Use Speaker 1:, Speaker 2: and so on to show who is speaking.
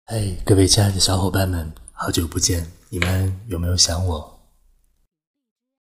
Speaker 1: 嘿，各位亲爱的小伙伴们，好久不见，你们有没有想我？